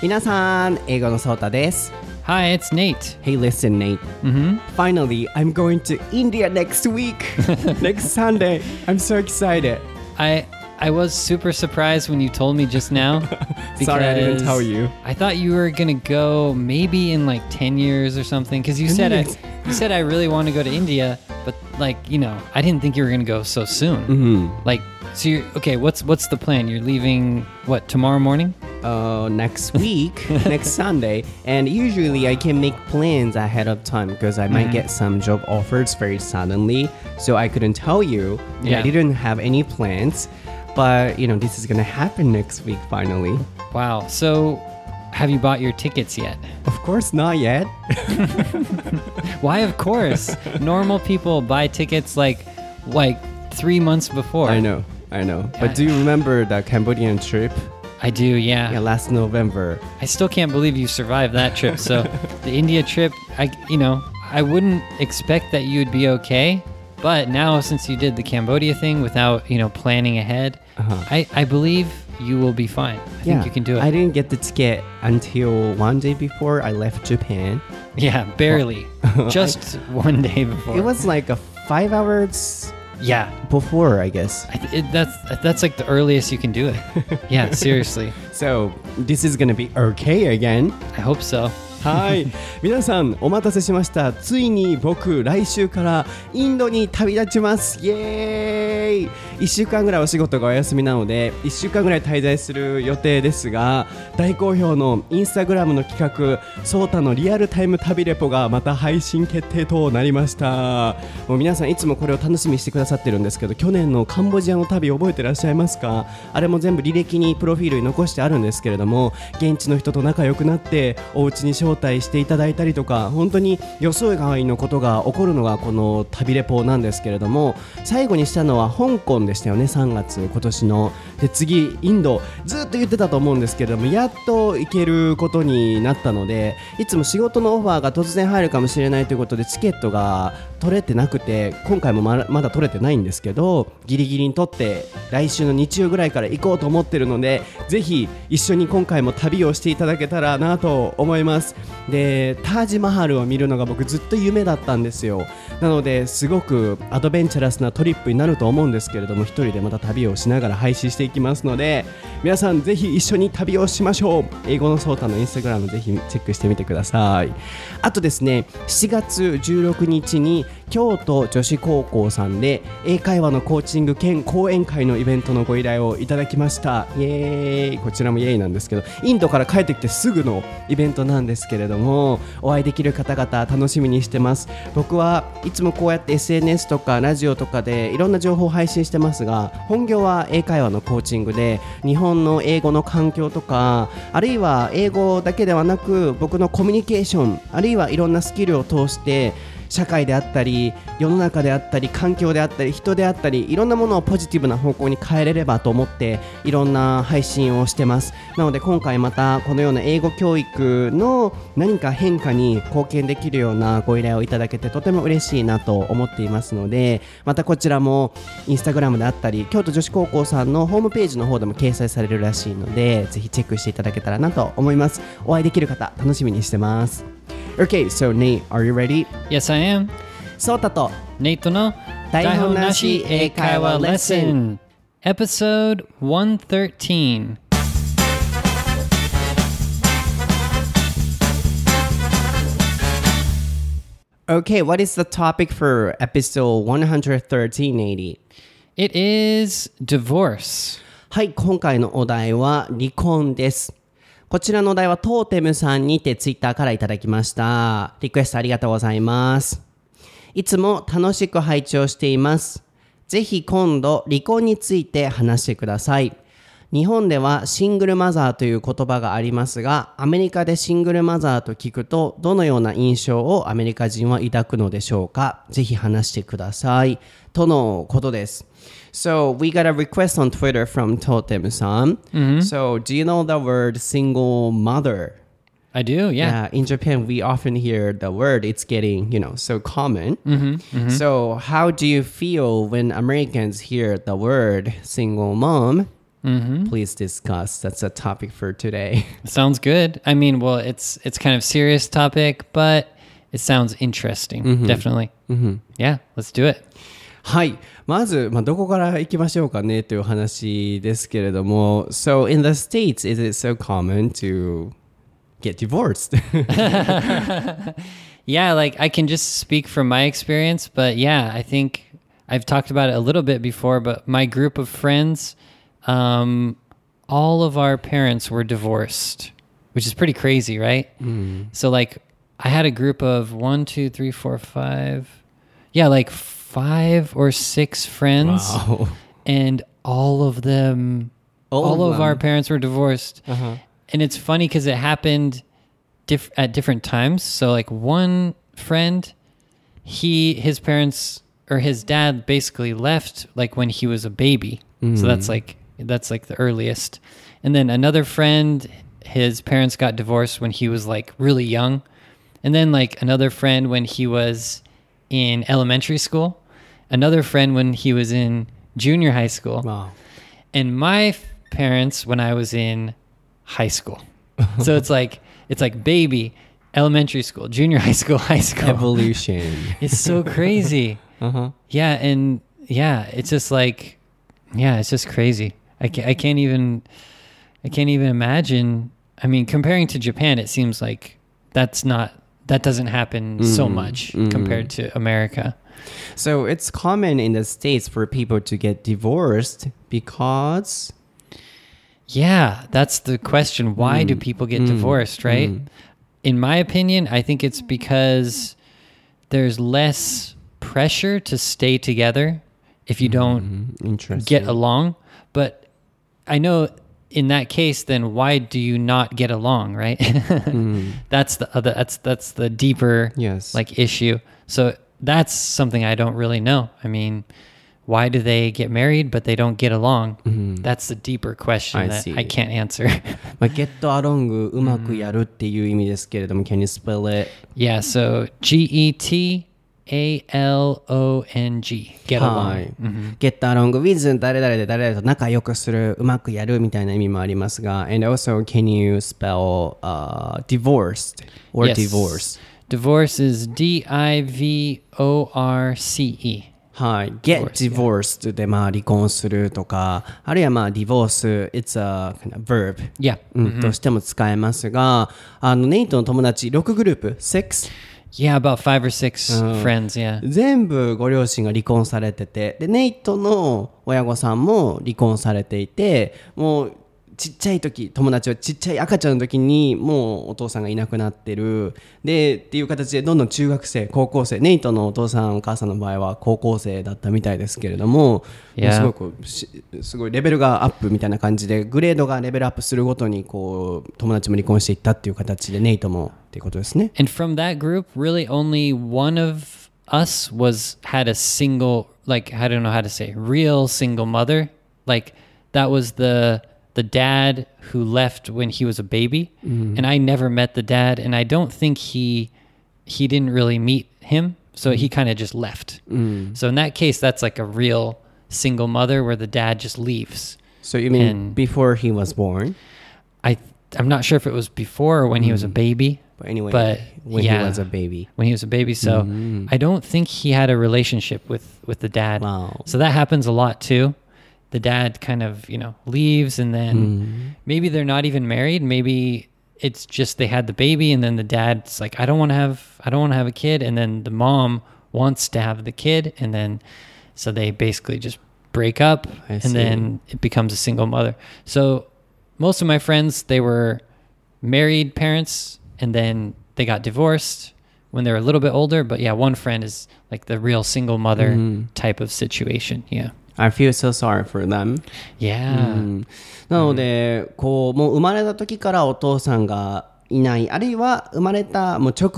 皆さん、英語のソータです。 Hi, it's Nate. Hey, listen, Nate. Finally, I'm going to India next week. Next Sunday. I'm so excited. I was super surprised when you told me just now. Sorry, I didn't tell you. I thought you were going to go maybe in like 10 years or something. Because you said I really want to go to India. But like, you know, I didn't think you were going to go so soon. Like, so okay, what's the plan? You're leaving, what, tomorrow morning? Next week, next Sunday. And usually I can make plans ahead of time because I might get some job offers very suddenly. So I couldn't tell you. Yeah. I didn't have any plans. But, you know, this is going to happen next week finally. Wow. So have you bought your tickets yet? Of course not yet. Why, of course? Normal people buy tickets like 3 months before. I know. But do you remember the Cambodian trip? I do, yeah. Yeah, last November. I still can't believe you survived that trip. So the India trip, I wouldn't expect that you would be okay. But now, since you did the Cambodia thing without, planning ahead, I believe you will be fine. I think you can do it. I didn't get the ticket until one day before I left Japan. Yeah, barely. Just one day before. It was like a 5 hours before, I guess. That's like the earliest you can do it. Yeah, seriously. So, this is gonna be okay again. I hope so. はい、皆さんお待たせしました。ついに僕来週からインドに旅立ちます。イエーイ。1週間ぐらいお仕事がお休みなので1週間ぐらい滞在する予定ですが、大好評のインスタグラムの企画ソータのリアルタイム旅レポがまた配信決定となりました。もう皆さんいつもこれを楽しみにしてくださってるんですけど、去年のカンボジアの旅覚えてらっしゃいますか？あれも全部履歴にプロフィールに残してあるんですけれども、現地の人と仲良くなってお家に招待していただいたりとか、本当に予想外のことが起こるのがこの旅レポなんですけれども、最後にしたのは香港でしたよね。3月今年ので、次インドずっと言ってたと思うんですけれども、やっと行けることになったので、いつも仕事のオファーが突然入るかもしれないということでチケットが取れてなくて、今回もまだ取れてないんですけど、ギリギリに取って来週の日曜ぐらいから行こうと思ってるので、ぜひ一緒に今回も旅をしていただけたらなと思います。で、タージマハルを見るのが僕ずっと夢だったんですよ。なのですごくアドベンチャラスなトリップになると思うんですけれども、一人でまた旅をしながら配信していきますので、皆さんぜひ一緒に旅をしましょう。英語のソータのインスタグラムぜひチェックしてみてください。あとですね、7月16日に京都女子高校さんで英会話のコーチング兼講演会のイベントのご依頼をいただきました。イエーイ。こちらもイエーイなんですけど、インドから帰ってきてすぐのイベントなんですけれども、お会いできる方々楽しみにしてます。僕はいつもこうやって SNS とかラジオとかでいろんな情報を配信してますが、本業は英会話のコーチングで、日本の英語の環境とか、あるいは英語だけではなく僕のコミュニケーション、あるいはいろんなスキルを通して社会であったり世の中であったり環境であったり人であったり、いろんなものをポジティブな方向に変えれればと思っていろんな配信をしてます。なので今回またこのような英語教育の何か変化に貢献できるようなご依頼をいただけてとても嬉しいなと思っていますので、またこちらもインスタグラムであったり京都女子高校さんのホームページの方でも掲載されるらしいので、ぜひチェックしていただけたらなと思います。お会いできる方楽しみにしてます。Okay, so Nate, are you ready? Yes, I am. ソータとネイトの台本なし英会話レッスン Episode 113. Okay, what is the topic for episode 113, It is divorce. はい、今回のお題は離婚です。こちらのお題はトーテムさんにてツイッターからいただきました。リクエストありがとうございます。いつも楽しく拝聴しています。ぜひ今度離婚について話してください。日本ではシングルマザーという言葉がありますが、アメリカでシングルマザーと聞くとどのような印象をアメリカ人は抱くのでしょうか。ぜひ話してください。とのことです。So we got a request on Twitter from Totem-san. So do you know the word single mother? I do, yeah. In Japan, we often hear the word. It's getting, so common. So how do you feel when Americans hear the word single mom? please discuss. That's a topic for today. Sounds good. I mean, well, it's kind of serious topic, but it sounds interesting. Definitely. Yeah, let's do it. はい。まず、どこから行きましょうかねという話ですけれども。So, in the States, is it so common to get divorced? Yeah, like I can just speak from my experience, but yeah, I think I've talked about it a little bit before, but my group of friends, all of our parents were divorced, which is pretty crazy, right? So like I had a group of 1, 2, 3, 4, 5, yeah, like 5 or 6 friends, Wow. and all of them, all of our parents were divorced. And it's funny because it happened at different times. So like one friend, his parents or his dad basically left like when he was a baby. So that's like the earliest. And then another friend, his parents got divorced when he was like really young. And then like another friend when he was in elementary school. Another friend when he was in junior high school. Wow. And my parents when I was in high school. So it's like baby, elementary school, junior high school, high school. Evolution. It's so crazy. Yeah, and yeah, it's just like, yeah, it's just crazy. I can't even imagine. I mean, comparing to Japan, it seems like that doesn't happen so much compared to America. So it's common in the States for people to get divorced because... Yeah, that's the question. Why do people get divorced, right? In my opinion, I think it's because there's less pressure to stay together if you don't get along. But I know in that case, then why do you not get along, right? That's the deeper like issue. So that's something I don't really know. I mean, why do they get married but they don't get along? That's the deeper question that I can't answer. get along うまくやるっていう意味ですけれども、can you spell it? Yeah, so GETALONG, get along. Get along with 誰々で誰々と仲良くする、うまくやるみたいな意味もありますが、and also can you spell divorced or divorce? Divorce is DIVORCE. はい。get divorced で離婚するとか、あるいはdivorce, it's a kind of verb. Yeah. としても使えますが、ネイトの友達6グループ、6? Yeah, about 5 or 6 friends, yeah. 全部ご両親が離婚されてて、で、ネイトの親御さんも離婚されていて、もうちっちゃい時、友達はちっちゃい赤ちゃんの時にもうお父さんがいなくなってる。で、っていう形でどんどん中学生、高校生、ネイトのお父さんお母さんの場合は高校生だったみたいですけれども、すごいレベルがアップみたいな感じで、グレードがレベルアップするごとにこう友達も離婚していったっていう形で、ネイトもっていうことですね。 And from that group, really only one of us had a single, like, I don't know how to say, real single mother. Like, that was the dad who left when he was a baby, and I never met the dad, and I don't think he didn't really meet him, so he kind of just left. So in that case, that's like a real single mother where the dad just leaves. So you mean before he was born? I'm not sure if it was before or when he was a baby. But anyway, when he was a baby. When he was a baby, so I don't think he had a relationship with the dad. Wow. So that happens a lot too. The dad kind of, leaves, and then maybe they're not even married. Maybe it's just they had the baby, and then the dad's like, I don't want to have a kid, and then the mom wants to have the kid, and then so they basically just break up, and then it becomes a single mother. So most of my friends, they were married parents, and then they got divorced when they were a little bit older. But yeah, one friend is like the real single mother type of situation. Yeah. I feel so sorry for them. Yeah. なので、こうもう生まれた時からお父さんがいない、あるいは生まれたもう直後、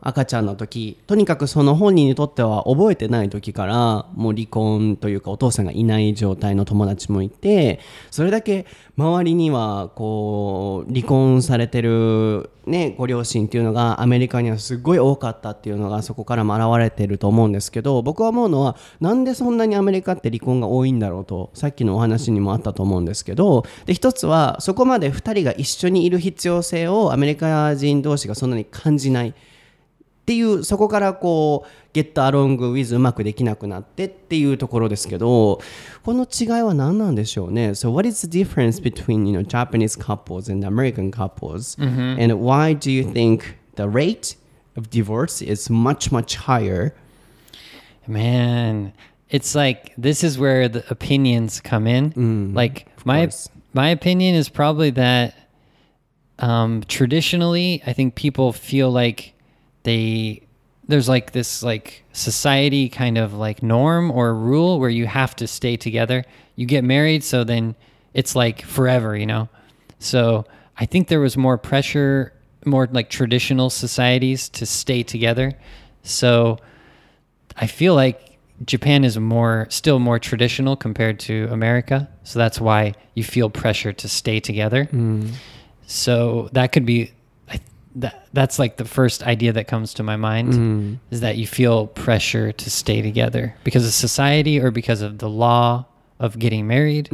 赤ちゃんの時、とにかくその本人にとっては覚えてない時からもう離婚というかお父さんがいない状態の友達もいて、それだけ周りにはこう離婚されてる、ね、ご両親っていうのがアメリカにはすごい多かったっていうのがそこからも現れてると思うんですけど、僕は思うのはなんでそんなにアメリカって離婚が多いんだろうと、さっきのお話にもあったと思うんですけど、で一つはそこまで2人が一緒にいる必要性をアメリカ人同士がそんなに感じないっていう、そこからこう get along with うまくできなくなってっていうところですけど、この違いは何なんでしょうね。 So what is the difference between Japanese couples and American couples、and why do you think the rate of divorce is much higher? Man, it's like this is where the opinions come in. Like my opinion is probably that traditionally I think people feel like there's like this like society kind of like norm or rule where you have to stay together. You get married, so then it's like forever, So I think there was more pressure, more like traditional societies to stay together. So I feel like Japan is still more traditional compared to America. So that's why you feel pressure to stay together. So that could be that's like the first idea that comes to my mind, is that you feel pressure to stay together because of society or because of the law of getting married.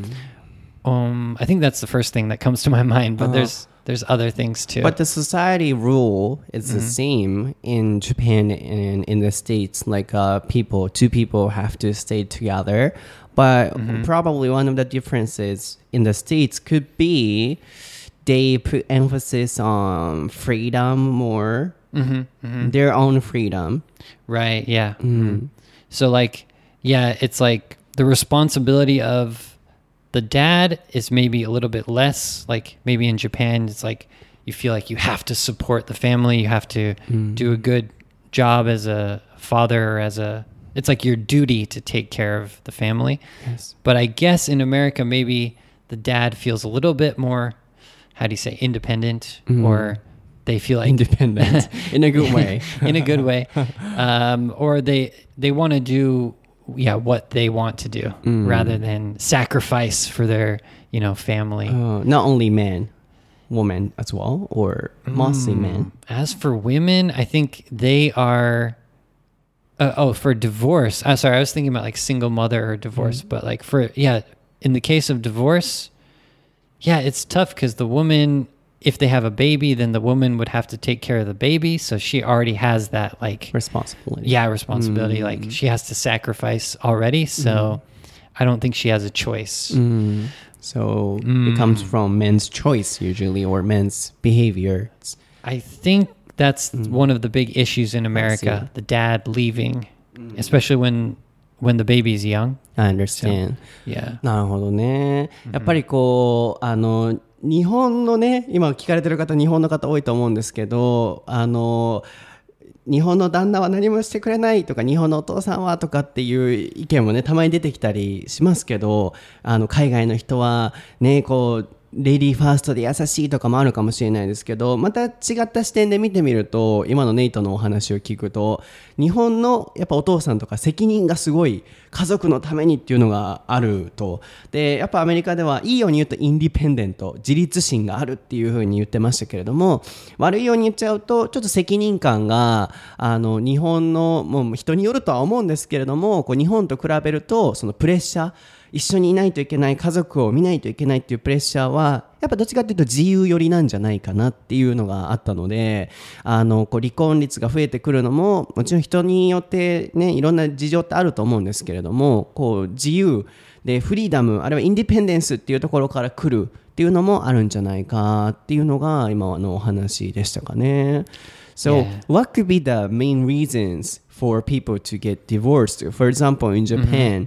I think that's the first thing that comes to my mind, but there's other things too. But the society rule is the same in Japan and in the States. Like two people have to stay together. But probably one of the differences in the States could be they put emphasis on freedom more, their own freedom. Right, yeah. So like, yeah, it's like the responsibility of the dad is maybe a little bit less. Like maybe in Japan, it's like you feel like you have to support the family. You have to do a good job as a father or it's like your duty to take care of the family. Yes. But I guess in America, maybe the dad feels a little bit more, how do you say, independent, or they feel like independent in a good way. In a good way. Or they want to do what they want to do rather than sacrifice for their family. Not only men, women as well, or mostly men. As for women, I think they are for divorce. Sorry, I was thinking about like single mother or divorce, but like in the case of divorce, it's tough because the woman, if they have a baby, then the woman would have to take care of the baby. So she already has that like responsibility. Yeah, responsibility. Like she has to sacrifice already. So I don't think she has a choice. So it comes from men's choice usually, or men's behavior. I think that's one of the big issues in America, the dad leaving, especially when the baby's young. I understand. So, yeah. なるほどね。やっぱりこう日本のね、今聞かれてる方日本の方多いと思うんですけど、日本の旦那は何もしてくれないとか、日本のお父さんはとかっていう意見もねたまに出てきたりしますけど、海外の人はねこうレディーファーストで優しいとかもあるかもしれないですけど、また違った視点で見てみると、今のネイトのお話を聞くと、日本のやっぱお父さんとか責任がすごい家族のためにっていうのがあると。でやっぱアメリカではいいように言うとインディペンデント、自立心があるっていう風に言ってましたけれども、悪いように言っちゃうとちょっと責任感が日本のもう人によるとは思うんですけれども、こう日本と比べるとそのプレッシャー、一緒にいないといけない、家族を見ないといけないっていうプレッシャーはやっぱどっちかっていうと自由寄りなんじゃないかなっていうのがあったので、こう離婚率が増えてくるのももちろん人によってねいろんな事情ってあると思うんですけれども、こう自由でフリーダム、あるいはインディペンデンスっていうところから来るっていうのもあるんじゃないかっていうのが今のお話でしたかね。So what could be the main reasons for people to get divorced? For example, in Japan,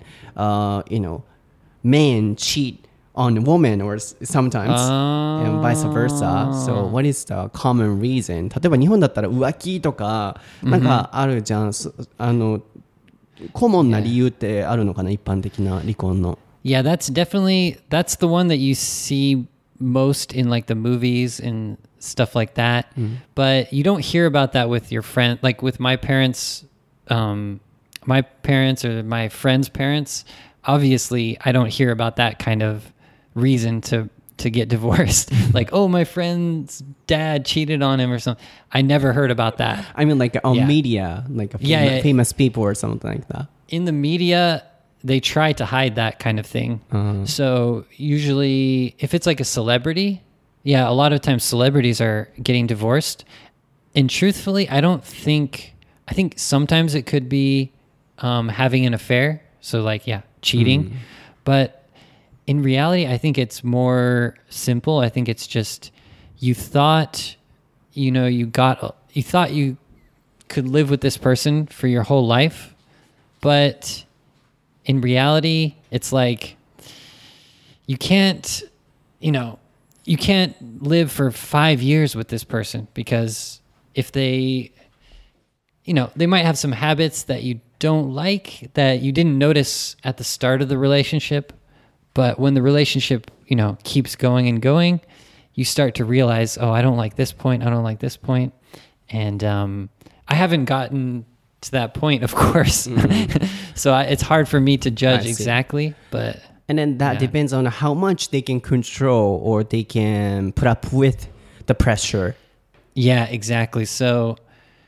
men cheat on women or sometimes and vice versa. So what is the common reason? 例えば日本だったら浮気とかなんかあるじゃん。コモンな理由ってあるのかな、一般的な離婚の。 Yeah, that's the one that you see most in like the movies and stuff like that. But you don't hear about that with your friend, like with my parents or my friends' parents. Obviously, I don't hear about that kind of reason to get divorced. Like, oh, my friend's dad cheated on him or something. I never heard about that. I mean, like on media, like famous people or something like that. In the media, they try to hide that kind of thing. So usually, if it's like a celebrity, a lot of times celebrities are getting divorced. And truthfully, I think sometimes it could be having an affair. So like, cheating. But in reality, I think it's more simple. I think it's just you thought you could live with this person for your whole life, but in reality, it's like you can't live for 5 years with this person, because if they might have some habits that you don't like, that you didn't notice at the start of the relationship. But when the relationship, keeps going and going, you start to realize, oh, I don't like this point. I don't like this point. And I haven't gotten to that point, of course. So it's hard for me to judge exactly. But and then that depends on how much they can control or they can put up with the pressure. Yeah, exactly. So,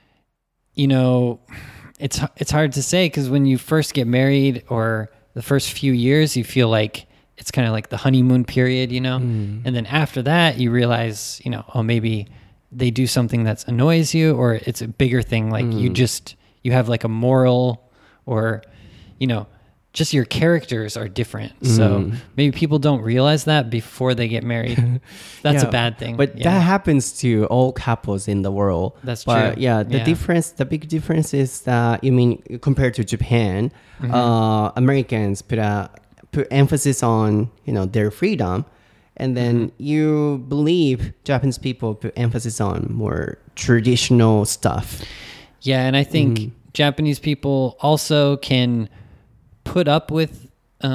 it's hard to say, because when you first get married or the first few years, you feel like it's kind of like the honeymoon period, and then after that you realize, oh, maybe they do something that annoys you, or it's a bigger thing. Like you have like a moral, or, just your characters are different. So maybe people don't realize that before they get married. That's a bad thing. But that happens to all couples in the world. That's true. Yeah, the big difference is that, compared to Japan, Americans put emphasis on, their freedom. And then you believe Japanese people put emphasis on more traditional stuff. Yeah, and I think Japanese people also can put up with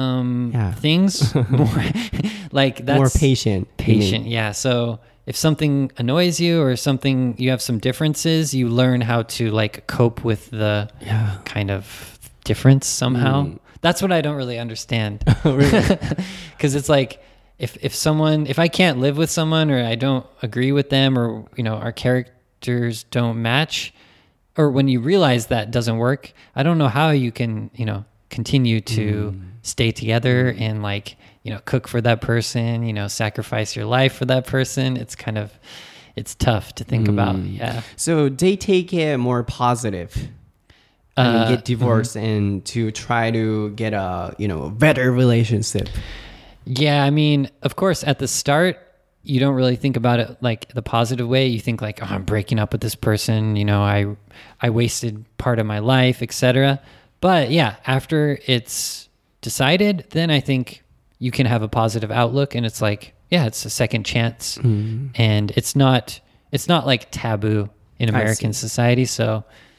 things more. Like that's more patient. Yeah. So if something annoys you or something, you have some differences, you learn how to like cope with the kind of difference somehow. That's what I don't really understand. Because it's like, if I can't live with someone, or I don't agree with them, or, our characters don't match, or when you realize that doesn't work, I don't know how you can, continue to stay together and like, cook for that person, sacrifice your life for that person. It's tough to think about. Yeah. So they take it more positive. Get divorced and to try to get a, better relationship. Yeah. I mean, of course, at the start, you don't really think about it like the positive way. You think like, oh, I'm breaking up with this person. I wasted part of my life, etc. But yeah, after it's decided, then I think you can have a positive outlook, and it's like, it's a second chance, and it's not like taboo in American society. So,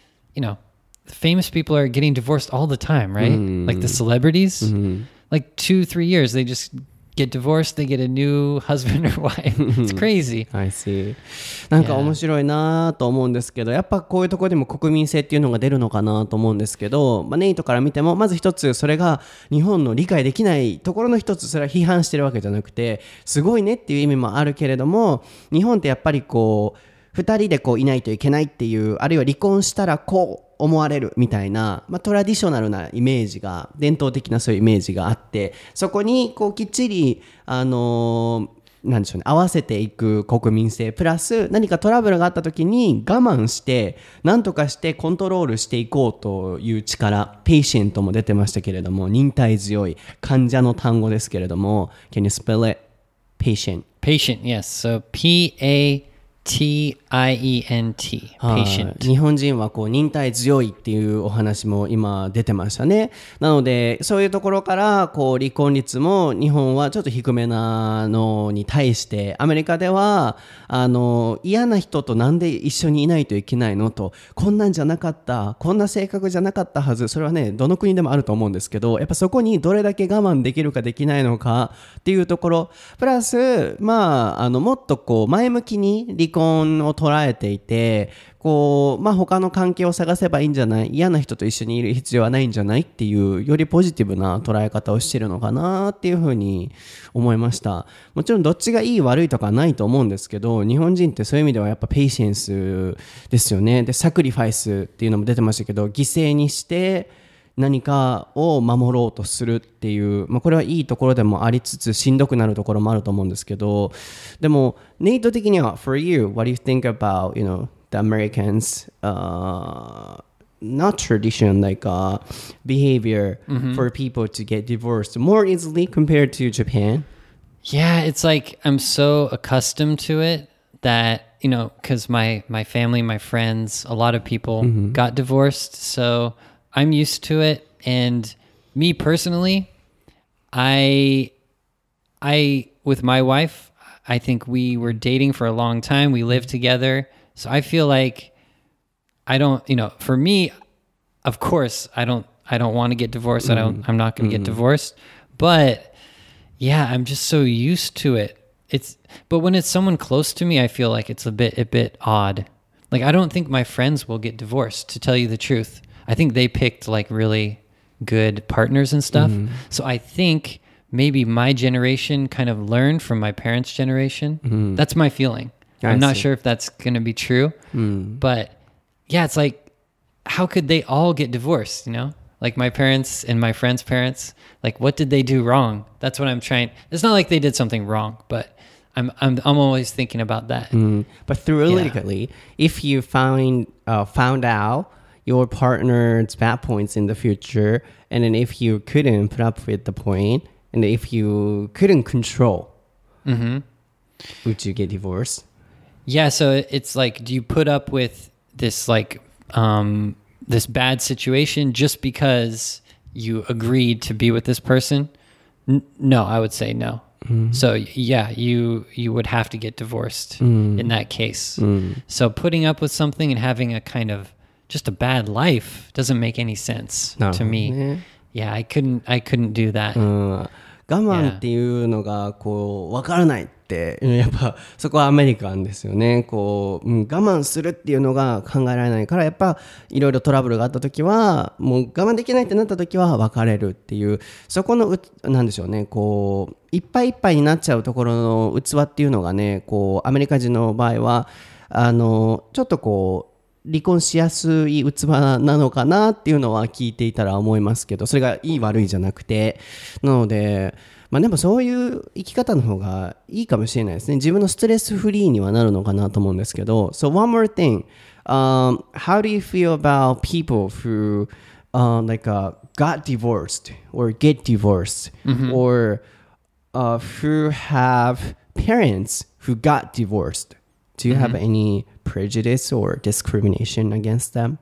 famous people are getting divorced all the time, right? Like the celebrities, like 2-3 years, they just get divorced, they get a new husband or wife. It's crazy. I see. なんか面白いなと思うんですけど、やっぱこういうところでも国民性っていうのが出るのかなと思うんですけど、ネイトから見てもまず一つ、それが日本の理解できないところの一つ、それは批判してるわけじゃなくて、すごいねっていう意味もあるけれども、日本ってやっぱりこう2人でこういないといけないっていう、あるいは離婚したらこう思われるみたいな、トラディショナルなイメージが、伝統的なそういうイメージがあって、そこにこうきっちりなんでしょうね、合わせていく国民性プラス、何かトラブルがあった時に我慢して何とかしてコントロールしていこうという力、ペイシェントも出てましたけれども、忍耐強い患者の単語ですけれども、 Can you spell it? Patient. Patient, yes. So P-A-T-I-E-N-T. I-E-N-T, はい patient. 日本人はこう忍耐強いっていうお話も今出てましたね。なのでそういうところからこう離婚率も日本はちょっと低めなのに対してアメリカでは嫌な人となんで一緒にいないといけないのと、こんなんじゃなかった、こんな性格じゃなかったはず、それはねどの国でもあると思うんですけど、やっぱそこにどれだけ我慢できるかできないのかっていうところプラスもっとこう前向きに離婚を捉えていて、こう他の関係を探せばいいんじゃない、嫌な人と一緒にいる必要はないんじゃないっていうよりポジティブな捉え方をしてるのかなっていうふうに思いました。もちろんどっちがいい悪いとかはないと思うんですけど、日本人ってそういう意味ではやっぱペイシェンスですよね。でサクリファイスっていうのも出てましたけど、犠牲にして何かを守ろうとするっていう、これはいいところでもありつつしんどくなるところもあると思うんですけど、でもネイト的には For you, what do you think about, the Americans not tradition like behavior for people to get divorced more easily compared to Japan? Yeah, it's like I'm so accustomed to it that, because my family, my friends, a lot of people got divorced. So I'm used to it. And me personally, I with my wife, I think we were dating for a long time. We lived together. So I feel like I don't, for me, of course, I don't want to get divorced. I'm not going to get divorced. But yeah, I'm just so used to it. But when it's someone close to me, I feel like it's a bit odd. Like I don't think my friends will get divorced, to tell you the truth. I think they picked like really good partners and stuff. So I think maybe my generation kind of learned from my parents' generation. That's my feeling. I'm not sure if that's going to be true. But yeah, it's like, how could they all get divorced, Like my parents and my friends' parents, like what did they do wrong? That's what I'm trying. It's not like they did something wrong, but I'm always thinking about that. But theoretically, if you found out your partner's bad points in the future, and then if you couldn't put up with the point, and if you couldn't control, would you get divorced? Yeah, so it's like, do you put up with this like this bad situation just because you agreed to be with this person? No, I would say no. So yeah, you would have to get divorced in that case. So putting up with something and having a kind of just a bad life doesn't make any sense to me. Yeah, I couldn't do that. 我慢っていうのがこう分からないってやっぱそこはアメリカンですよね。こう、我慢するっていうのが考えられないから、やっぱいろいろトラブルがあった時はもう我慢できないってなった時は別れるっていう、そこのなんでしょうね、こういっぱいいっぱいになっちゃうところの器っていうのがね、こうアメリカ人の場合はちょっとこう離婚しやすい器なのかなっていうのは聞いていたら思いますけど、それがいい悪いじゃなくて、なのででもそういう生き方の方がいいかもしれないですね。自分のストレスフリーにはなるのかなと思うんですけど。So one more thing, how do you feel about people who got divorced or get divorced, or who have parents who got divorced? Do you have any prejudice or discrimination against them?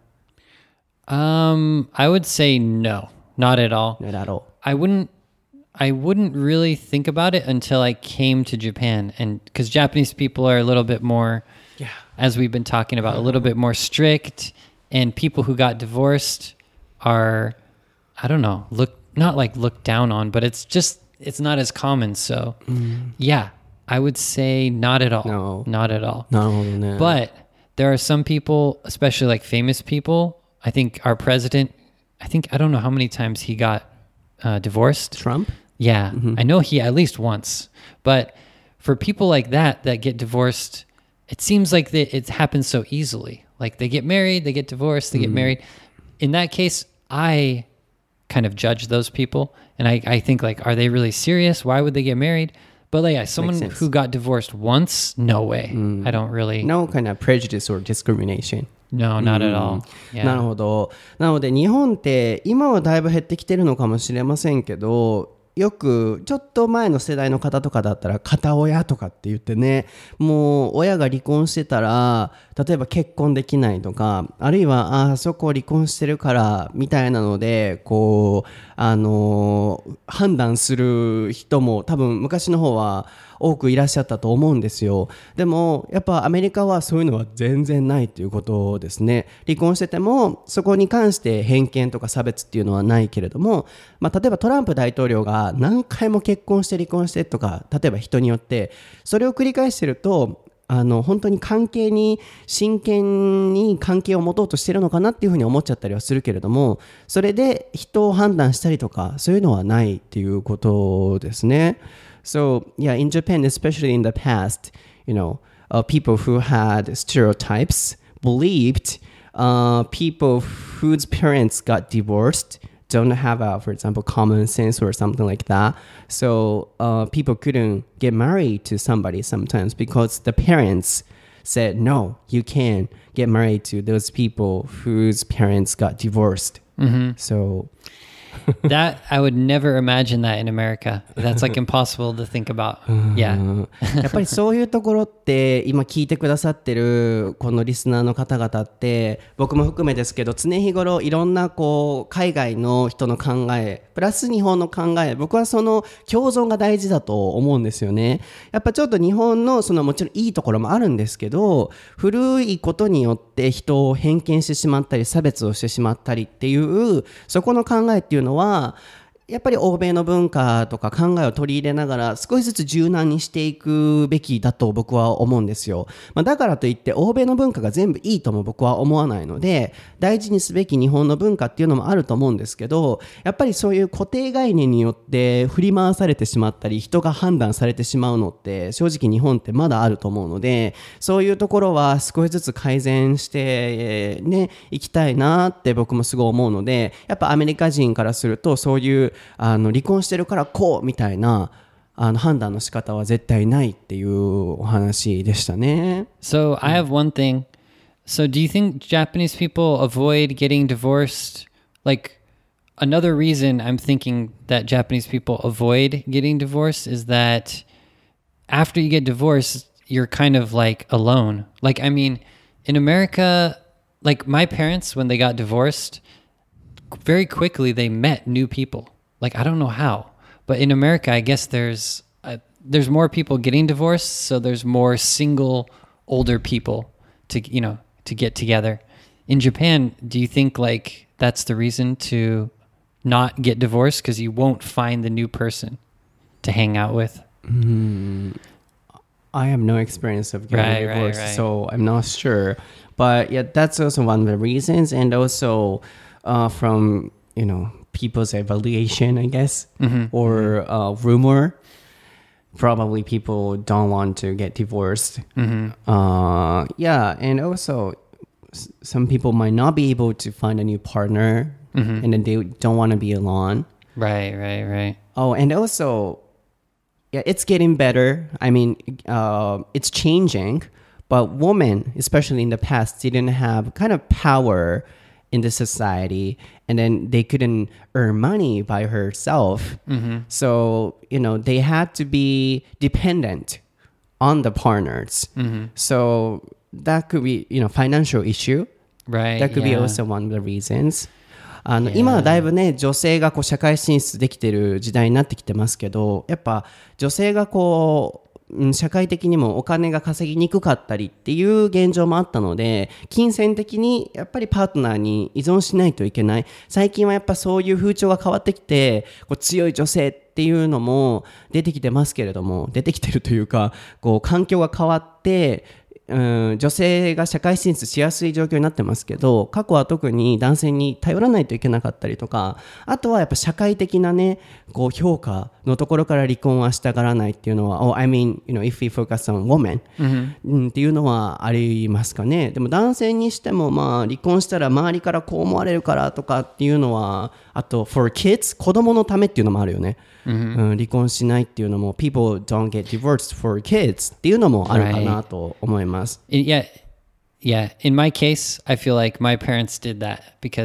I would say no, not at all. Not at all. I wouldn't really think about it until I came to Japan, and because Japanese people are a little bit more, as we've been talking about, a little bit more strict, and people who got divorced are, I don't know, not like looked down on, but it's not as common. So yeah, I would say not at all. No. Not at all. No. But there are some people, especially like famous people. I think our president, I don't know how many times he got divorced. Trump? Yeah, I know he at least once. But for people like that get divorced, it seems like it happens so easily. Like they get married, they get divorced, they get married. In that case, I kind of judge those people. And I think like, are they really serious? Why would they get married? But like, someone who got divorced once, no way. I don't really... No kind of prejudice or discrimination. No, not at all. Yeah. なるほど。なので日本って今はだいぶ減ってきてるのかもしれませんけど、 よくちょっと前の世代の方とかだったら片親とかって言ってね、もう親が離婚してたら例えば結婚できないとか、あるいはあそこ離婚してるからみたいなのでこう判断する人も多分昔の方は多くいらっしゃったと思うんですよ。でもやっぱアメリカはそういうのは全然ないということですね。離婚しててもそこに関して偏見とか差別っていうのはないけれども、例えばトランプ大統領が何回も結婚して離婚してとか、例えば人によってそれを繰り返してると本当に関係に真剣に関係を持とうとしてるのかなっていうふうに思っちゃったりはするけれども、それで人を判断したりとかそういうのはないっていうことですね。So yeah, in Japan, especially in the past, people who had stereotypes believed people whose parents got divorced don't have for example, common sense or something like that. So people couldn't get married to somebody sometimes because the parents said, no, you can't get married to those people whose parents got divorced. So that I would never imagine that in America. That's like impossible to think about. Yeah. やっぱりそういうところって今聞いてくださってるこのリスナーの方々って僕も含めですけど、常日頃いろんな海外の人の考えプラス日本の考え、僕はその共存が大事だと思うんですよね。やっぱちょっと日本のもちろんいいところもあるんですけど、古いことによって人を偏見してしまったり差別をしてしまったりっていうそこの考えっていうのはやっぱり欧米の文化とか考えを取り入れながら少しずつ柔軟にしていくべきだと僕は思うんですよ。だからといって欧米の文化が全部いいとも僕は思わないので、大事にすべき日本の文化っていうのもあると思うんですけど、やっぱりそういう固定概念によって振り回されてしまったり人が判断されてしまうのって正直日本ってまだあると思うので、そういうところは少しずつ改善していきたいなって僕もすごい思うので、やっぱアメリカ人からするとそういう離婚してるからこうみたいな判断の仕方は絶対ないっていうお話でしたね。 So I have one thing. So do you think Japanese people avoid getting divorced? Like another reason I'm thinking that Japanese people avoid getting divorced is that after you get divorced, you're kind of like alone. Like, I mean, in America, like my parents, when they got divorced, very quickly they met new people. Like, I don't know how, but in America, I guess there's more people getting divorced, so there's more single older people to get together. In Japan, do you think like that's the reason to not get divorced, because you won't find the new person to hang out with? I have no experience of getting divorced, so I'm not sure. But yeah, that's also one of the reasons, and also from people's evaluation, I guess, or rumor. Probably people don't want to get divorced. Yeah, and also some people might not be able to find a new partner, and then they don't want to be alone. Right. Oh, and also, yeah, it's getting better. I mean, it's changing, but women, especially in the past, didn't have kind of power in the society, and then they couldn't earn money by herself. So, they had to be dependent on the partners. So that could be, financial issue. Right. That could be also one of the reasons. 今はだいぶね、女性が社会進出できてる時代になってきてますけど、やっぱ女性が社会的にもお金が稼ぎにくかったりっていう現状もあったので、金銭的にやっぱりパートナーに依存しないといけない。最近はやっぱそういう風潮が変わってきて、強い女性っていうのも出てきてますけれども、出てきてるというか、環境が変わって女性が社会進出しやすい状況になってますけど、過去は特に男性に頼らないといけなかったりとか、あとはやっぱ社会的なね、評価のところから離婚はしたがらないっていうのは、I mean, if we focus on women、っていうのはありますかね。でも男性にしても離婚したら周りからこう思われるからとかっていうのは、あと for kids 子供のためっていうのもあるよね。離婚しないっていうのも people don't get divorced for kids っていうのもあるかなと思います。 Yeah. In my case, I feel like my parents did that because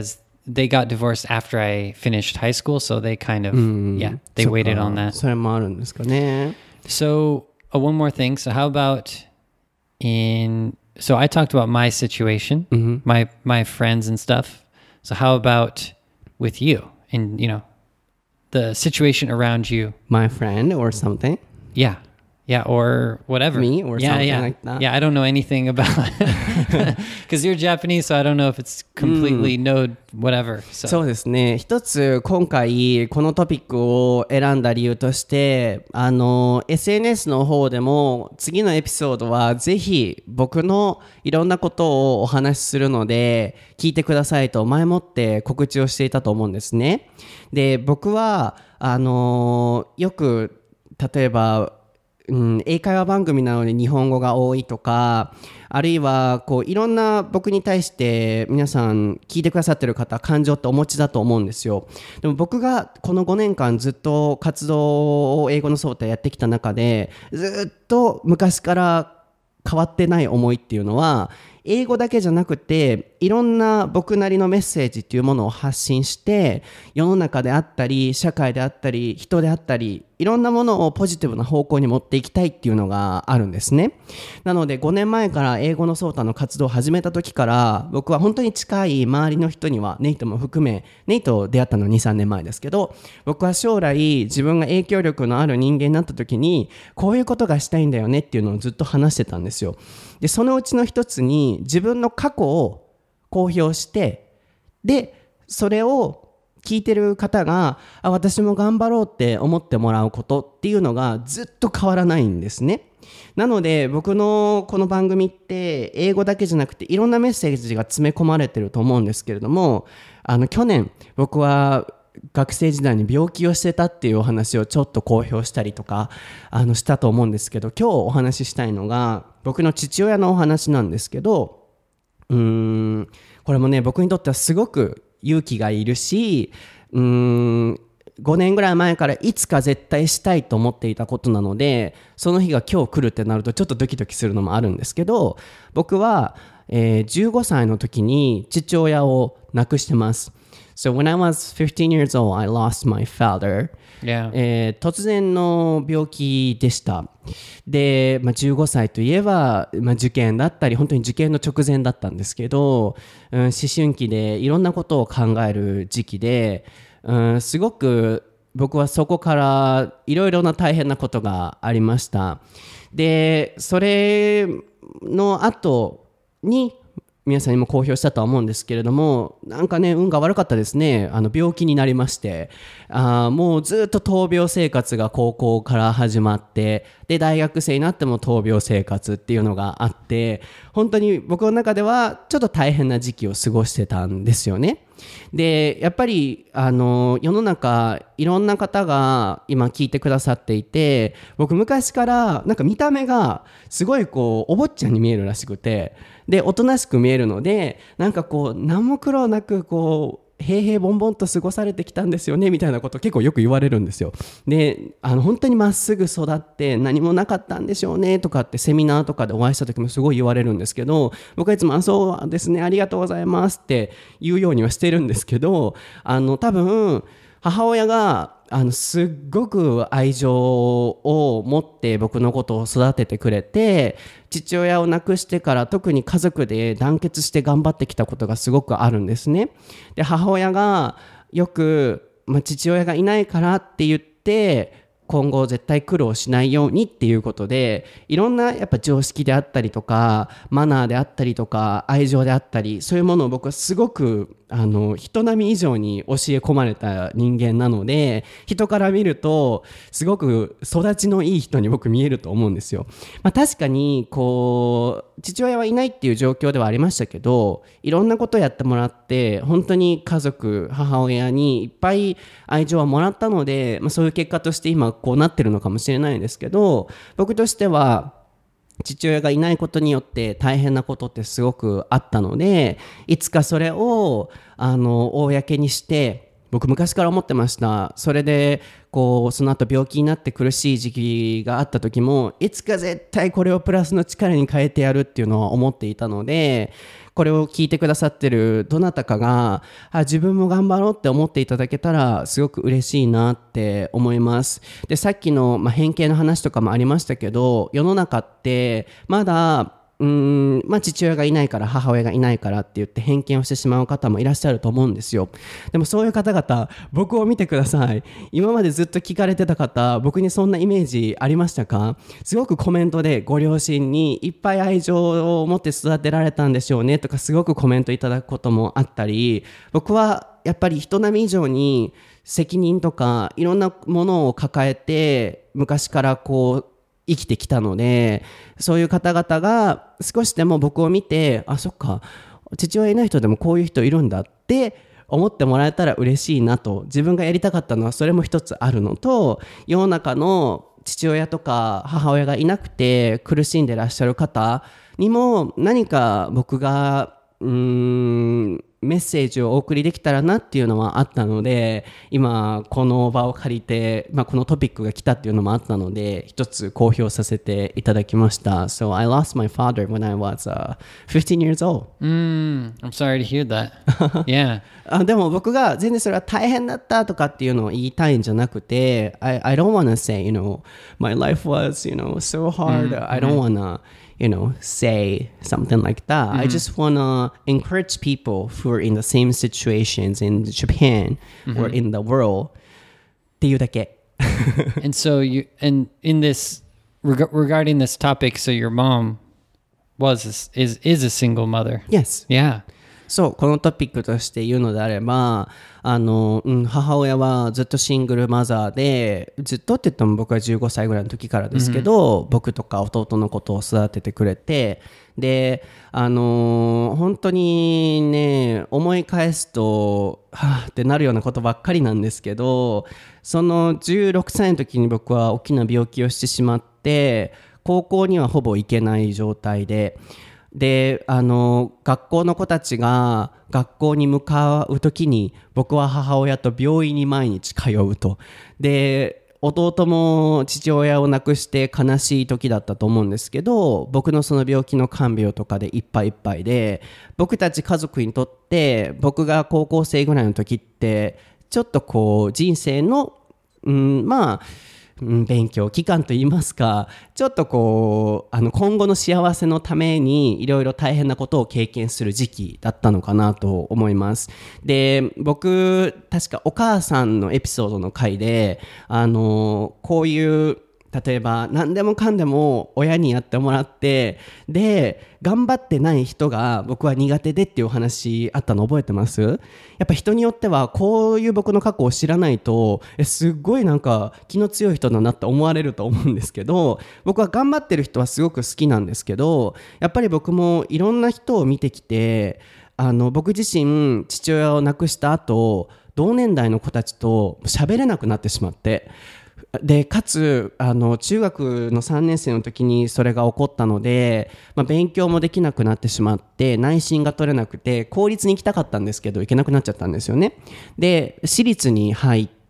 they got divorced after I finished high school, so they kind of, yeah, they そっか waited on that. それもあるんですかね。 So, one more thing. So, how about so I talked about my situation, my friends and stuff. So, how about with you and, the situation around you? My friend or something? Yeah. Yeah, or whatever. Me or something like that? Yeah, I don't know anything about because you're Japanese, so I don't know if it's completely no whatever. そうですね。一つ今回このトピックを選んだ理由として、SNS の方でも次のエピソードはぜひ僕のいろんなことをお話しするので聞いてくださいと前もって告知をしていたと思うんですね。で、僕はよく例えば英会話番組なので日本語が多いとか、あるいはこういろんな僕に対して皆さん聞いてくださってる方感情ってお持ちだと思うんですよ。でも僕がこの5年間ずっと活動を英語のソータやってきた中でずっと昔から変わってない思いっていうのは英語だけじゃなくていろんな僕なりのメッセージっていうものを発信して世の中であったり社会であったり人であったりいろんなものをポジティブな方向に持っていきたいっていうのがあるんですね。なので5年前から英語のソータの活動を始めた時から僕は本当に近い周りの人にはネイトも含めネイト出会ったのは 2,3 年前ですけど僕は将来自分が影響力のある人間になった時にこういうことがしたいんだよねっていうのをずっと話してたんですよ。でそのうちの一つに自分の過去を公表してでそれを聞いてる方が私も頑張ろうって思ってもらうことっていうのがずっと変わらないんですね。なので僕のこの番組って英語だけじゃなくていろんなメッセージが詰め込まれてると思うんですけれども去年僕は学生時代に病気をしてたっていうお話をちょっと公表したりとかしたと思うんですけど今日お話ししたいのが僕の父親のお話なんですけどこれもね僕にとってはすごく勇気がいるし5年ぐらい前からいつか絶対したいと思っていたことなのでその日が今日来るってなるとちょっとドキドキするのもあるんですけど僕は、15歳の時に父親を亡くしてます。So when I was 15 years old, I lost my father. Yeah. 突然の病気でした。で、15歳といえば、受験だったり、本当に受験の直前だったんですけど、思春期でいろんなことを考える時期で、すごく僕はそこからいろいろな大変なことがありました。で、それの後に、皆さんにも公表したとは思うんですけれどもなんかね運が悪かったですね。病気になりましてもうずっと闘病生活が高校から始まってで大学生になっても闘病生活っていうのがあって本当に僕の中ではちょっと大変な時期を過ごしてたんですよね。でやっぱり世の中いろんな方が今聞いてくださっていて僕昔からなんか見た目がすごいこうお坊ちゃんに見えるらしくてでおとなしく見えるのでなんかこう何も苦労なくこう平々凡々と過ごされてきたんですよねみたいなこと結構よく言われるんですよ。で本当にまっすぐ育って何もなかったんでしょうねとかってセミナーとかでお会いした時もすごい言われるんですけど僕はいつもそうですねありがとうございますって言うようにはしてるんですけど多分母親がすっごく愛情を持って僕のことを育ててくれて父親を亡くしてから特に家族で団結して頑張ってきたことがすごくあるんですね。で母親がよく、父親がいないからって言って今後絶対苦労しないようにっていうことでいろんなやっぱ常識であったりとかマナーであったりとか愛情であったりそういうものを僕はすごく人並み以上に教え込まれた人間なので人から見るとすごく育ちのいい人に僕見えると思うんですよ。確かにこう父親はいないっていう状況ではありましたけどいろんなことをやってもらって本当に家族母親にいっぱい愛情はもらったので、そういう結果として今こうなってるのかもしれないですけど僕としては父親がいないことによって大変なことってすごくあったのでいつかそれを公にして僕昔から思ってました。それでこうその後病気になって苦しい時期があった時も、いつか絶対これをプラスの力に変えてやるっていうのは思っていたので、これを聞いてくださってるどなたかが自分も頑張ろうって思っていただけたらすごく嬉しいなって思います。で、さっきの、偏見の話とかもありましたけど、世の中ってまだ父親がいないから母親がいないからって言って偏見をしてしまう方もいらっしゃると思うんですよ。でもそういう方々、僕を見てください。今までずっと聞かれてた方、僕にそんなイメージありましたか？すごくコメントでご両親にいっぱい愛情を持って育てられたんでしょうねとか、すごくコメントいただくこともあったり、僕はやっぱり人並み以上に責任とかいろんなものを抱えて昔からこう生きてきたので、そういう方々が少しでも僕を見て、そっか、父親いない人でもこういう人いるんだって思ってもらえたら嬉しいなと。自分がやりたかったのはそれも一つあるのと、世の中の父親とか母親がいなくて苦しんでらっしゃる方にも何か僕がメッセージをお送りできたらなっていうのはあったので、今この場を借りて、このトピックが来たっていうのもあったので、一つ公表させていただきました。So I lost my father when I was 15 years old. I'm sorry to hear that. Yeah. でも僕が全然それは大変だったとかっていうのを言いたいんじゃなくて、I don't want to say, my life was, so hard. I don't want to say something like that. I just want to encourage people who are in the same situations in Japan or in the world っていうだけ。 And so in this regarding this topic, so your mom is a single mother. Yes. Yeah. そう、このトピックとして言うのであれば、母親はずっとシングルマザーで、ずっとって言っても僕は15歳ぐらいの時からですけど、僕とか弟のことを育ててくれて、で、本当にね、思い返すと、ってなるようなことばっかりなんですけど、その16歳の時に僕は大きな病気をしてしまって、高校にはほぼ行けない状態で、学校の子たちが学校に向かう時に僕は母親と病院に毎日通うと。で、弟も父親を亡くして悲しい時だったと思うんですけど、僕のその病気の看病とかでいっぱいいっぱいで、僕たち家族にとって僕が高校生ぐらいの時ってちょっとこう人生の勉強期間といいますか、ちょっとこう今後の幸せのためにいろいろ大変なことを経験する時期だったのかなと思います。で、僕確かお母さんのエピソードの回でこういう例えば何でもかんでも親にやってもらって、で頑張ってない人が僕は苦手でっていうお話あったの覚えてます？やっぱ人によってはこういう僕の過去を知らないとすっごいなんか気の強い人だなって思われると思うんですけど、僕は頑張ってる人はすごく好きなんですけど、やっぱり僕もいろんな人を見てきて、僕自身父親を亡くした後同年代の子たちと喋れなくなってしまって、でかつ中学の3年生の時にそれが起こったので、勉強もできなくなってしまって内申が取れなくて公立に行きたかったんですけど行けなくなっちゃったんですよね。で私立に入って、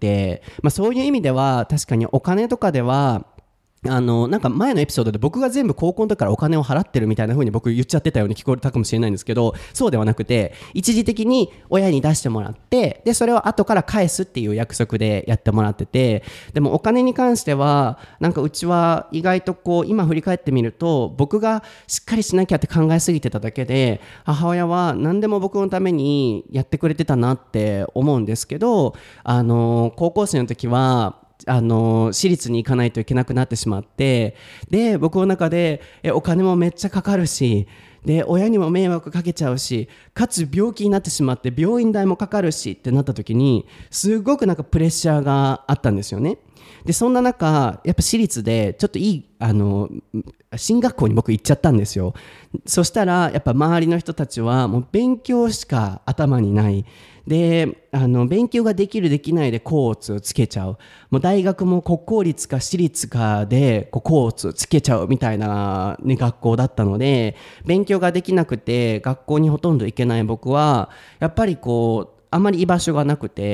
そういう意味では確かにお金とかではなんか前のエピソードで僕が全部高校の時からお金を払ってるみたいな風に僕言っちゃってたように聞こえたかもしれないんですけど、そうではなくて一時的に親に出してもらって、でそれを後から返すっていう約束でやってもらってて、でもお金に関してはなんかうちは意外とこう今振り返ってみると僕がしっかりしなきゃって考えすぎてただけで、母親は何でも僕のためにやってくれてたなって思うんですけど、高校生の時は私立に行かないといけなくなってしまって、で僕の中でお金もめっちゃかかるし、で親にも迷惑かけちゃうし、かつ病気になってしまって病院代もかかるしってなった時にすごくなんかプレッシャーがあったんですよね。でそんな中やっぱ私立でちょっといい進学校に僕行っちゃったんですよ。そしたらやっぱ周りの人たちはもう勉強しか頭にないで、勉強ができるできないで甲乙をつけちゃう、もう大学も国公立か私立かで甲乙をつけちゃうみたいな、学校だったので、勉強ができなくて学校にほとんど行けない僕はやっぱりこうあまり居場所がなくて、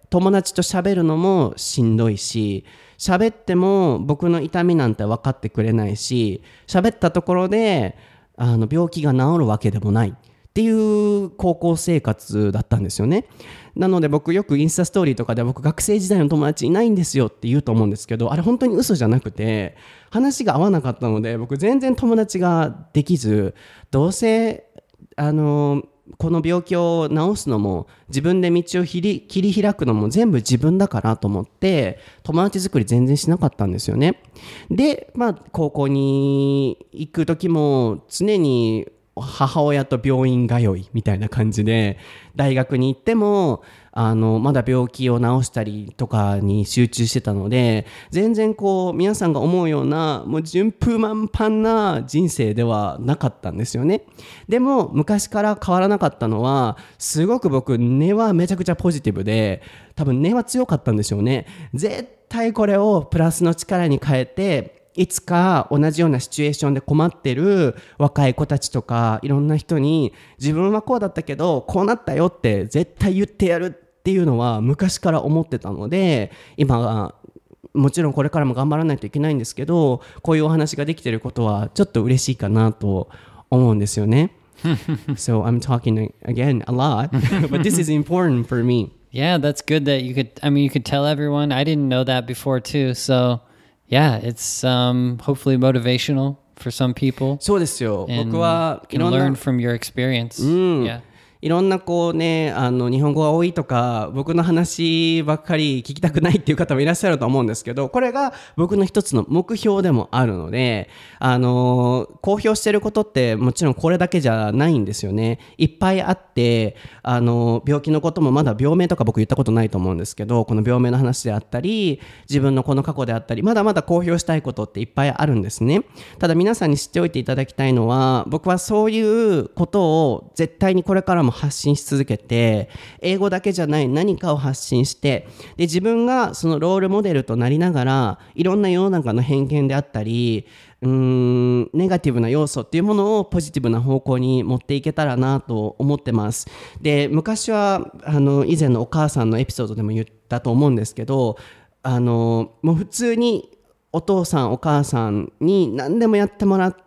友達と喋るのもしんどいし、喋っても僕の痛みなんて分かってくれないし、喋ったところで病気が治るわけでもないっていう高校生活だったんですよね。なので僕よくインスタストーリーとかで僕学生時代の友達いないんですよって言うと思うんですけど、あれ本当に嘘じゃなくて、話が合わなかったので僕全然友達ができず、どうせこの病気を治すのも自分で道を切り開くのも全部自分だからと思って友達作り全然しなかったんですよね。で、高校に行く時も常に母親と病院通いみたいな感じで、大学に行ってもまだ病気を治したりとかに集中してたので、全然皆さんが思うようなもう順風満帆な人生ではなかったんですよね。でも昔から変わらなかったのは、すごく僕根はめちゃくちゃポジティブで、多分根は強かったんでしょうね。絶対これをプラスの力に変えて、いつか同じようなシチュエーションで困ってる若い子たちとかいろんな人に、自分はこうだったけどこうなったよって絶対言ってやるっていうのは昔から思ってたので、今はもちろんこれからも頑張らないといけないんですけど、こういうお話ができてることはちょっと嬉しいかなと思うんですよね。So I'm talking again a lot, but this is important for me. Yeah, that's good that you could tell everyone. I didn't know that before too. So,Yeah, it's hopefully motivational for some people. そうですよ。僕はいろんな learn from your experience. Yeah. いろんな日本語が多いとか僕の話ばっかり聞きたくないっていう方もいらっしゃると思うんですけど、これが僕の一つの目標でもあるので、公表してることってもちろんこれだけじゃないんですよね。いっぱいあって、病気のこともまだ病名とか僕言ったことないと思うんですけど、この病名の話であったり自分のこの過去であったり、まだまだ公表したいことっていっぱいあるんですね。ただ皆さんに知っておいていただきたいのは、僕はそういうことを絶対にこれからも発信し続けて、英語だけじゃない何かを発信して、で自分がそのロールモデルとなりながら、いろんな世の中の偏見であったりネガティブな要素っていうものをポジティブな方向に持っていけたらなと思ってます。で昔は以前のお母さんのエピソードでも言ったと思うんですけど、もう普通にお父さんお母さんに何でもやってもらって、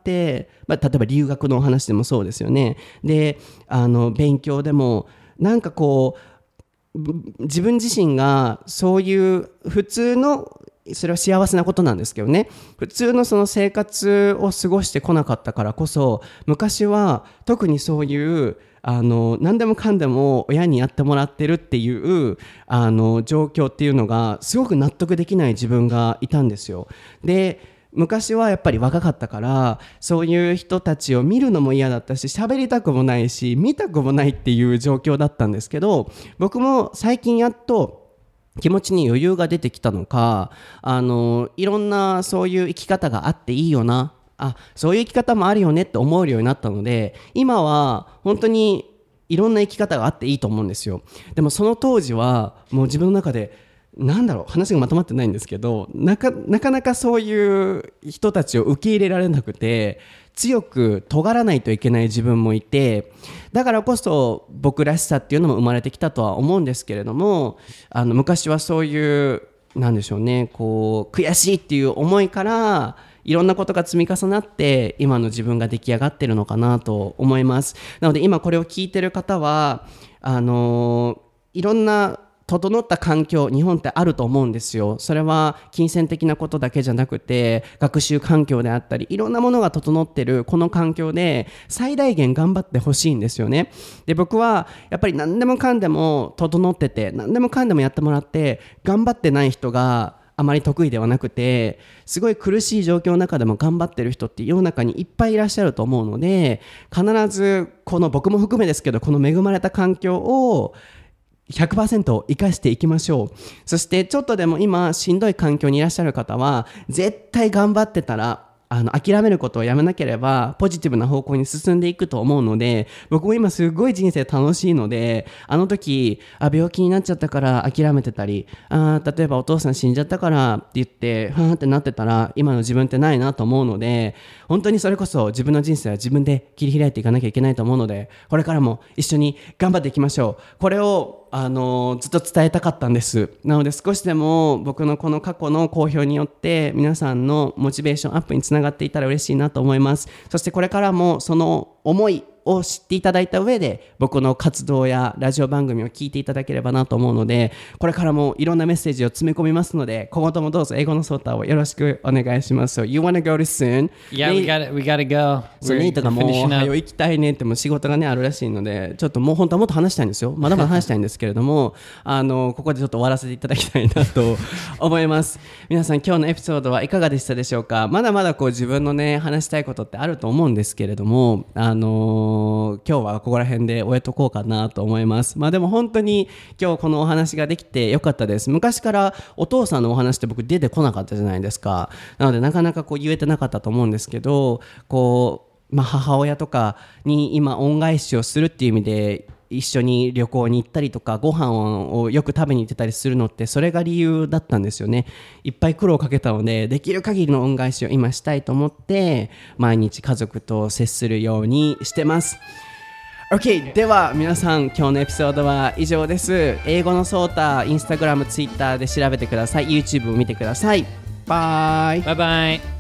例えば留学のお話でもそうですよね。で勉強でもなんか自分自身がそういう普通の、それは幸せなことなんですけどね、普通のその生活を過ごしてこなかったからこそ、昔は特にそういう何でもかんでも親にやってもらってるっていう状況っていうのがすごく納得できない自分がいたんですよ。で昔はやっぱり若かったから、そういう人たちを見るのも嫌だったし、喋りたくもないし見たくもないっていう状況だったんですけど、僕も最近やっと気持ちに余裕が出てきたのか、いろんなそういう生き方があっていいよな、そういう生き方もあるよねって思えるようになったので、今は本当にいろんな生き方があっていいと思うんですよ。でもその当時はもう自分の中で話がまとまってないんですけど、なかなかそういう人たちを受け入れられなくて、強く尖らないといけない自分もいて、だからこそ僕らしさっていうのも生まれてきたとは思うんですけれども、昔はそういうなんでしょうね、悔しいっていう思いからいろんなことが積み重なって今の自分が出来上がってるのかなと思います。なので今これを聞いてる方はいろんな整った環境、日本ってあると思うんですよ。それは金銭的なことだけじゃなくて、学習環境であったり、いろんなものが整ってるこの環境で最大限頑張ってほしいんですよね。で僕はやっぱり何でもかんでも整ってて、何でもかんでもやってもらって頑張ってない人があまり得意ではなくて、すごい苦しい状況の中でも頑張ってる人って世の中にいっぱいいらっしゃると思うので、必ずこの僕も含めですけど、この恵まれた環境を100% 生かしていきましょう。そしてちょっとでも今しんどい環境にいらっしゃる方は、絶対頑張ってたら諦めることをやめなければポジティブな方向に進んでいくと思うので、僕も今すごい人生楽しいので、時病気になっちゃったから諦めてたり、例えばお父さん死んじゃったからって言ってふーんってなってたら、今の自分ってないなと思うので、本当にそれこそ自分の人生は自分で切り開いていかなきゃいけないと思うので、これからも一緒に頑張っていきましょう。これをずっと伝えたかったんです。なので少しでも僕のこの過去の好評によって皆さんのモチベーションアップにつながっていたら嬉しいなと思います。そしてこれからもその思いを知っていただいた上で僕の活動やラジオ番組を聞いていただければなと思うので、これからもいろんなメッセージを詰め込みますので、今後ともどうぞ英語のソータをよろしくお願いします。So you wanna go to soon? Yeah, we gotta go. そうネイトがもう早行きたいねっても仕事がねあるらしいので、ちょっともう本当はもっと話したいんですよ。まだまだ話したいんですけれどもここでちょっと終わらせていただきたいなと思います。皆さん今日のエピソードはいかがでしたでしょうか。まだまだこう自分のね話したいことってあると思うんですけれども、今日はここら辺で終えとこうかなと思います。まあでも本当に今日このお話ができてよかったです。昔からお父さんのお話って僕出てこなかったじゃないですか。なのでなかなかこう言えてなかったと思うんですけど、こう母親とかに今恩返しをするっていう意味で一緒に旅行に行ったりとかご飯をよく食べに行ってたりするのってそれが理由だったんですよね。いっぱい苦労をかけたのでできる限りの恩返しを今したいと思って毎日家族と接するようにしてます。 OK では皆さん今日のエピソードは以上です。英語のソータインスタグラムツイッターで調べてください。 YouTube を見てください。バイバイバイ。